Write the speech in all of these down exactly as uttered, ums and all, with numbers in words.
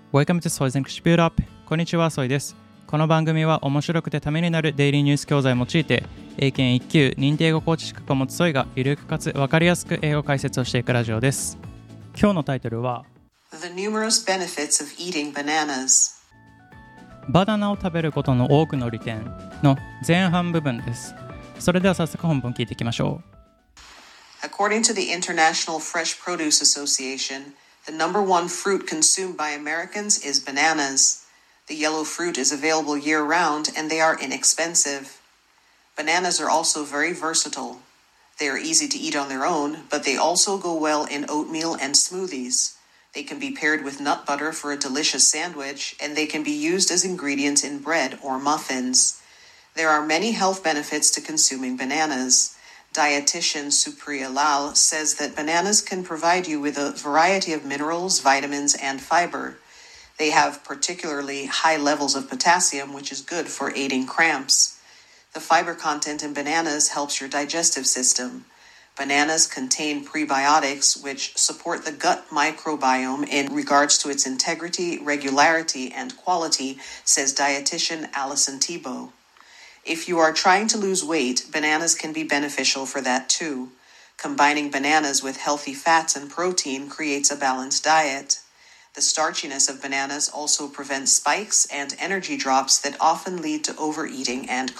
Welcome to Soy's English Build Up。こんにちは、ソイです。この番組は面白くてためになるデイリーニュース教材を用いて、英検いっ級認定語コーチ資格を持つソイがゆるくかつ分かりやすく英語解説をしていくラジオです。今日のタイトルは The numerous benefits of eating bananas。 バナナを食べることの多くの利点の前半部分です。それでは早速本文聞いていきましょう。According to the International Fresh Produce Association, the number one fruit consumed by Americans is bananas. The yellow fruit is available year-round and they are inexpensive. Bananas are also very versatile. They are easy to eat on their own, but they also go well in oatmeal and smoothies.They can be paired with nut butter for a delicious sandwich, and they can be used as ingredients in bread or muffins. There are many health benefits to consuming bananas. Dietitian Supriya Lal says that bananas can provide you with a variety of minerals, vitamins, and fiber. They have particularly high levels of potassium, which is good for aiding cramps. The fiber content in bananas helps your digestive system.Bananas contain prebiotics which support the gut microbiome in regards to its integrity, regularity, and quality, says dietitian Alison Tebow. If you are trying to lose weight, bananas can be beneficial for that too. Combining bananas with healthy fats and protein creates a balanced diet. The starchiness of bananas also prevents spikes and energy drops that often lead to overeating and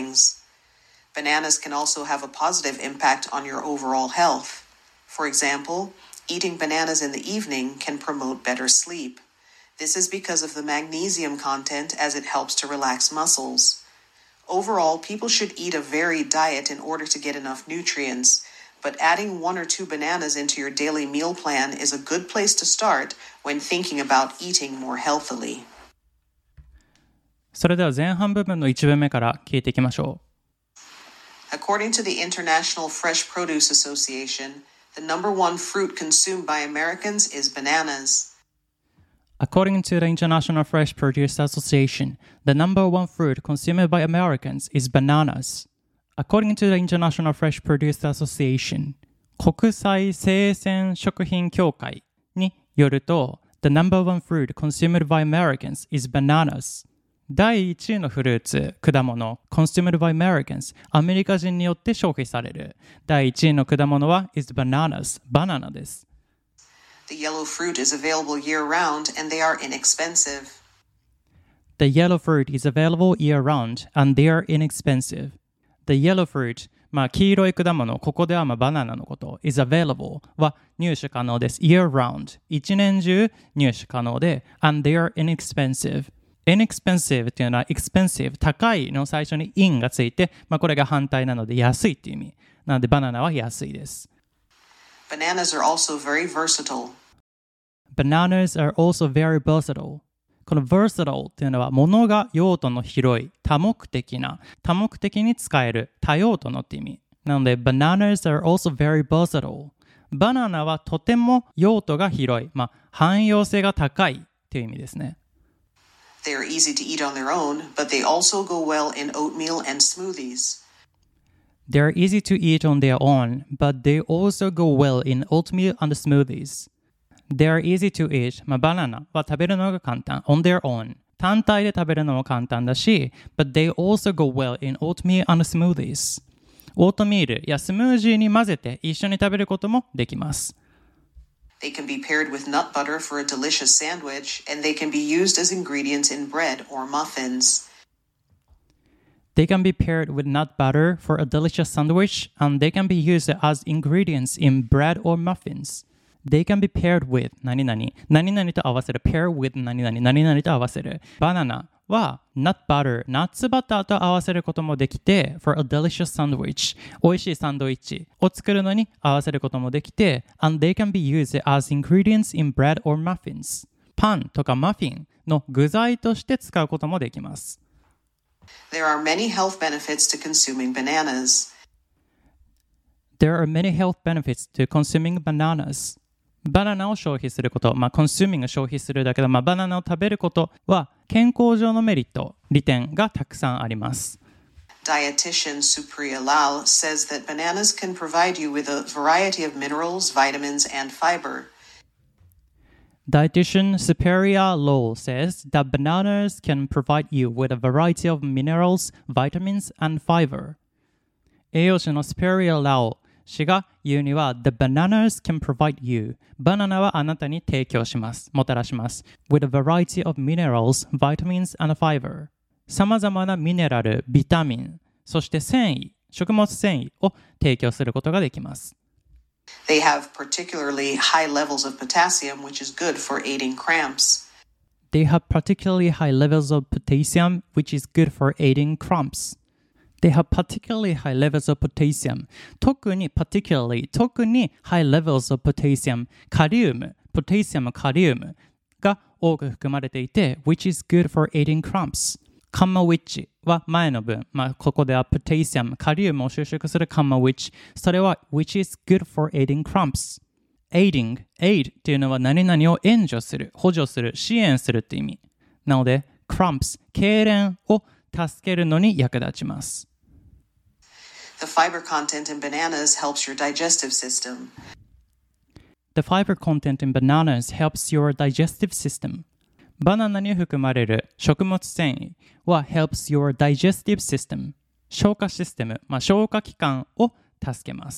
cravings.Bananas can also have a positive impact on your overall health. For example, eating bananas in the evening can promote better sleep. This is because of the magnesium content as it helps to relax muscles. Overall, people should eat a varied diet in order to get enough nutrients, but adding one or two bananas into your daily meal plan is a good place to start when thinking about eating more healthily. それでは前半部分のいち文目から聞いていきましょう。 According to the International Fresh Produce Association, the number one fruit consumed by Americans is bananas. According to the International Fresh Produce Association, the number one fruit consumed by Americans is bananas. According to the International Fresh Produce Association, 国際生鮮食品協会によると、the number one fruit consumed by Americans is bananas.第いちいのフルーツ、果物、consumed by Americans、アメリカ人によって消費される。第いちいの果物は is bananas、バナナです。 The yellow fruit is available year-round and they are inexpensive. The yellow fruit is available year-round and they are inexpensive. The yellow fruit、まあ黄色い果物、ここではまあバナナのこと、is available は入手可能です。year-round、一年中入手可能で、and they are inexpensive.inexpensive というのは expensive 高いの最初に in がついて、まあ、これが反対なので安いという意味なのでバナナは安いです。 Bananas are also very versatile. Bananas are also very versatile. この versatile というのは物が用途の広い多目的な多目的に使える多用途のという意味なので Bananas are also very versatile. バナナはとても用途が広い、まあ、汎用性が高いという意味ですね。 They are easy to eat on their own, but they also go well in oatmeal and smoothies. They are easy to eat on their own, but they also go well in oatmeal and smoothies. They are easy to eat. まあ、バナナは食べるのが簡単。on their own. 単体で食べるのも簡単だし、but they also go well in oatmeal and smoothies. オートミールやスムージーに混ぜて一緒に食べることもできます。 They can be paired with nut butter for a delicious sandwich, and they can be used as ingredients in bread or muffins. They can be paired with nut butter for a delicious sandwich, and they can be used as ingredients in bread or muffins. They can be paired with 何々、何々と合わせる pair with 何々、何々と合わせる。バナナは nut butter、ナッツバターと合わせることもできて for a delicious sandwich、美味しいサンドイッチを作るのに合わせることもできて and they can be used as ingredients in bread or muffins。パンとかマフィンの具材として使うこともできます。 There are many health benefits to consuming bananas. There are many health benefits to consuming bananas. バナナを消費すること、まあ、consuming を消費するだけど、まあ、バナナを食べることは健康上のメリット、利点がたくさんあります。 Dietitian Supriya Lal says that bananas can provide you with a variety of minerals, vitamins, and fiber. Dietitian Superior Law says that bananas can provide you with a variety of minerals, vitamins, and fiber. 栄養士の Superior Law 氏が言うには The bananas can provide you バナナはあなたに提供します、もたらします with a variety of minerals, vitamins, and fiber さまざまなミネラル、ビタミン、そして繊維、食物繊維を提供することができます。 They have particularly high levels of potassium, which is good for aiding cramps. They have particularly high levels of potassium, which is good for aiding cramps. They have particularly high levels of potassium. 特に particularly 特に high levels of potassium カリウム、ポタシアム、カリウムが多く含まれていて which is good for aiding cramps. カンマ which は前の文、まあ、ここではポタシアム、カリウムを収縮するカンマ which それは which is good for aiding cramps. aiding, aid っていうのは何々を援助する、補助する、支援するって意味。なので cramps、痙攣を助けるのに役立ちます。 The fiber content in bananas helps your digestive system. The fiber content in bananas helps your digestive system. バナナに含まれる食物繊維は helps your digestive system. 消化システム、まあ、消化器官を助けます。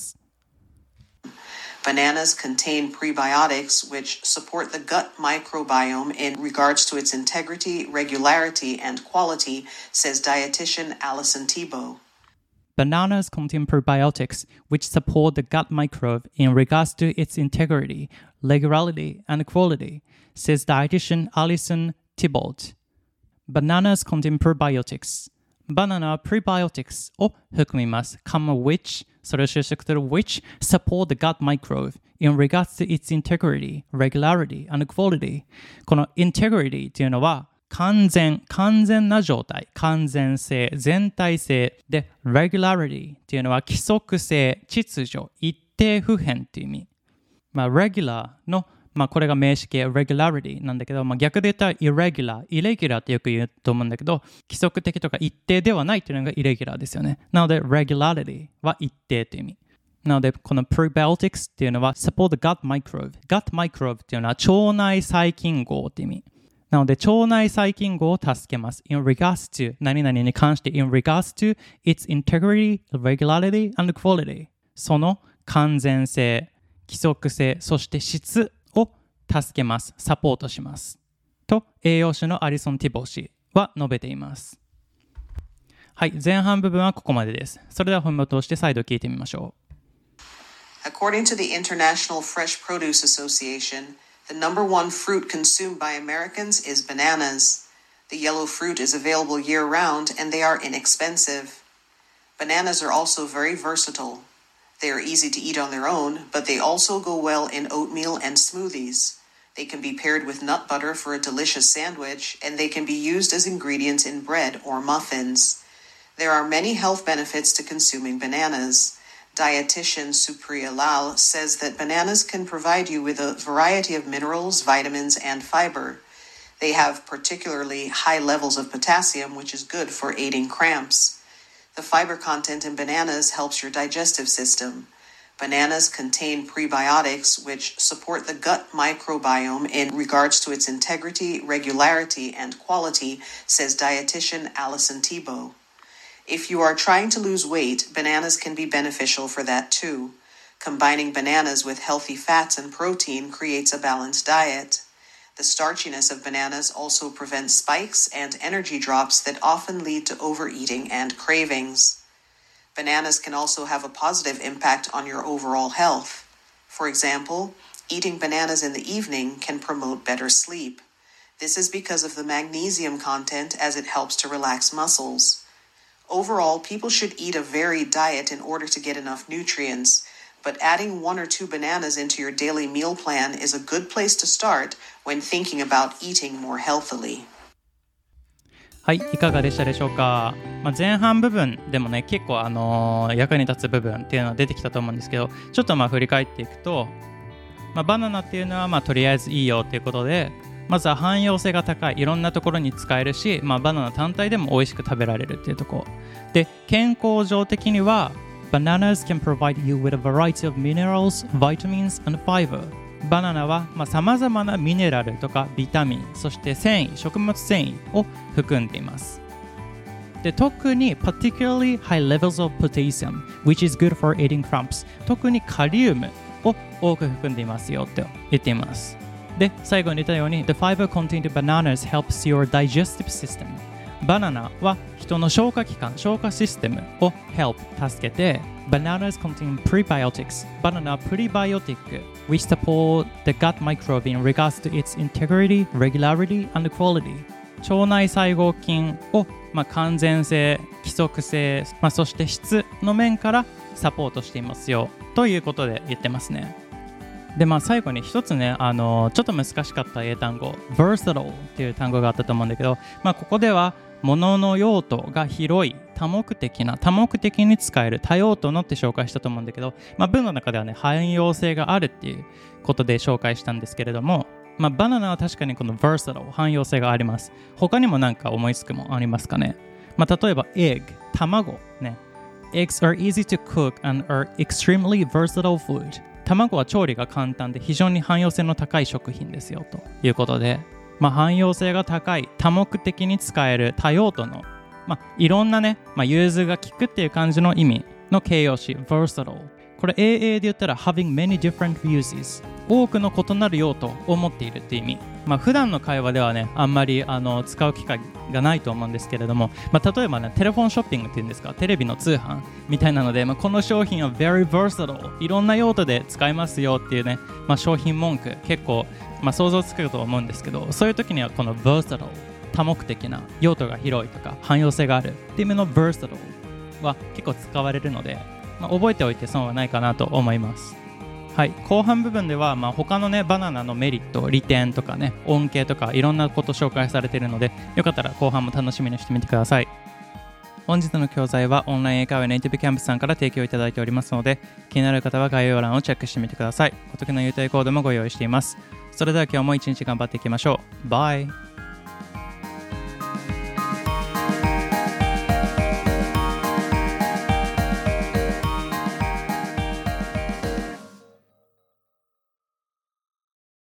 Bananas contain prebiotics which support the gut microbiome in regards to its integrity, regularity, and quality, says dietitian Alison Thibault. Bananas contain probiotics which support the gut microbe in regards to its integrity, regularity, and quality, says dietitian Alison Thibault. Bananas contain probiotics. バナナは prebiotics を含みます。comma which それを収縮する which support the gut microbe in regards to its integrity, regularity, and quality. この integrity というのは完全、完全な状態、完全性、全体性で regularity っていうのは規則性、秩序、一定不変っていう意味。まあ regular の、まあこれが名詞形 regularity なんだけど、まあ、逆で言ったら irregular、irregular ってよく言うと思うんだけど、規則的とか一定ではないっていうのが irregular ですよね。なので regularity は一定っていう意味。なのでこの prebiotics っていうのは support the gut microbe。gut microbe っていうのは腸内細菌号っていう意味。なので、腸内細菌号を助けます。in regards to 何々に関して in regards to its integrity, regularity, and quality その完全性、規則性、そして質を助けます。サポートします。と、栄養士のアリソン・ティボー氏は述べています。はい、前半部分はここまでです。それでは本文を通して再度聞いてみましょう。According to the International Fresh Produce Association, the number one fruit consumed by Americans is bananas. The yellow fruit is available year-round, and they are inexpensive. Bananas are also very versatile. They are easy to eat on their own, but they also go well in oatmeal and smoothies. They can be paired with nut butter for a delicious sandwich, and they can be used as ingredients in bread or muffins. There are many health benefits to consuming bananas.Dietitian Supriya Lal says that bananas can provide you with a variety of minerals, vitamins, and fiber. They have particularly high levels of potassium, which is good for aiding cramps. The fiber content in bananas helps your digestive system. Bananas contain prebiotics, which support the gut microbiome in regards to its integrity, regularity, and quality, says dietitian Alison Thibault.If you are trying to lose weight, bananas can be beneficial for that too. Combining bananas with healthy fats and protein creates a balanced diet. The starchiness of bananas also prevents spikes and energy drops that often lead to overeating and cravings. Bananas can also have a positive impact on your overall health. For example, eating bananas in the evening can promote better sleep.This is because of the magnesium content as it helps to relax muscles.Overall, people should eat a varied diet in order to get enough nutrients, but adding one or two bananas into your daily meal plan is a good place to start when thinking about eating more healthily. はい、いかがでしたでしょうか。まあ、前半部分でもね、結構あのー、役に立つ部分っていうのは出てきたと思うんですけど、ちょっとまあ振り返っていくと、まあ、バナナっていうのはまあとりあえずいいよっていうことで、まずは汎用性が高い、いろんなところに使えるし、まあ、バナナ単体でも美味しく食べられるっていうところで、健康上的には Bananas can provide you with a variety of minerals, vitamins, and fiber. バナナはさまざ、まなミネラルとかビタミン、そして繊維、食物繊維を含んでいます。で、特に particularly high levels of potassium, which is good for eating crops。特にカリウムを多く含んでいますよと言っています。で、最後に言ったように The fiber contained in bananas helps your digestive system。バナナは人の消化器官、消化システムを help 助けて、Bananas contain prebiotics。バナナはプリバイオティック which support the gut microbe in regards to its integrity, regularity, and quality。腸内細胞菌を、まあ、完全性、規則性、まあ、そして質の面からサポートしていますよということで言ってますね。で、まあ、最後に一つね、あのちょっと難しかった英単語 versatile っていう単語があったと思うんだけど、まあ、ここでは物の用途が広い、多目的な、多目的に使える、多用途のって紹介したと思うんだけど、まあ、文の中ではね、汎用性があるっていうことで紹介したんですけれども、まあ、バナナは確かにこの versatile、汎用性があります。他にも何か思いつくもありますかね。まあ、例えば egg、卵ね。Eggs are easy to cook and are extremely versatile food。卵は調理が簡単で非常に汎用性の高い食品ですよということで、まあ、汎用性が高い、多目的に使える、多用途の、まあ、いろんなね、まあ、融通が利くっていう感じの意味の形容詞 versatile。これ エーエー で言ったら having many different uses。多くの異なる用途を持っているっていう意味。まあ、普段の会話ではね、あんまりあの使う機会がないと思うんですけれども、まあ、例えばね、テレフォンショッピングっていうんですか、テレビの通販みたいなので、まあ、この商品は very versatile。いろんな用途で使えますよっていうね、まあ、商品文句結構、まあ、想像つくと思うんですけど、そういう時にはこの versatile、多目的な、用途が広いとか汎用性があるっていう意味の versatile は結構使われるので、まあ、覚えておいて損はないかなと思います。はい、後半部分では、まあ、他のねバナナのメリット、利点とかね、恩恵とかいろんなこと紹介されているので、よかったら後半も楽しみにしてみてください。本日の教材はオンライン英会話ネイティブキャンプさんから提供いただいておりますので、気になる方は概要欄をチェックしてみてください。お得な優待コードもご用意しています。それでは今日も一日頑張っていきましょう。バイ。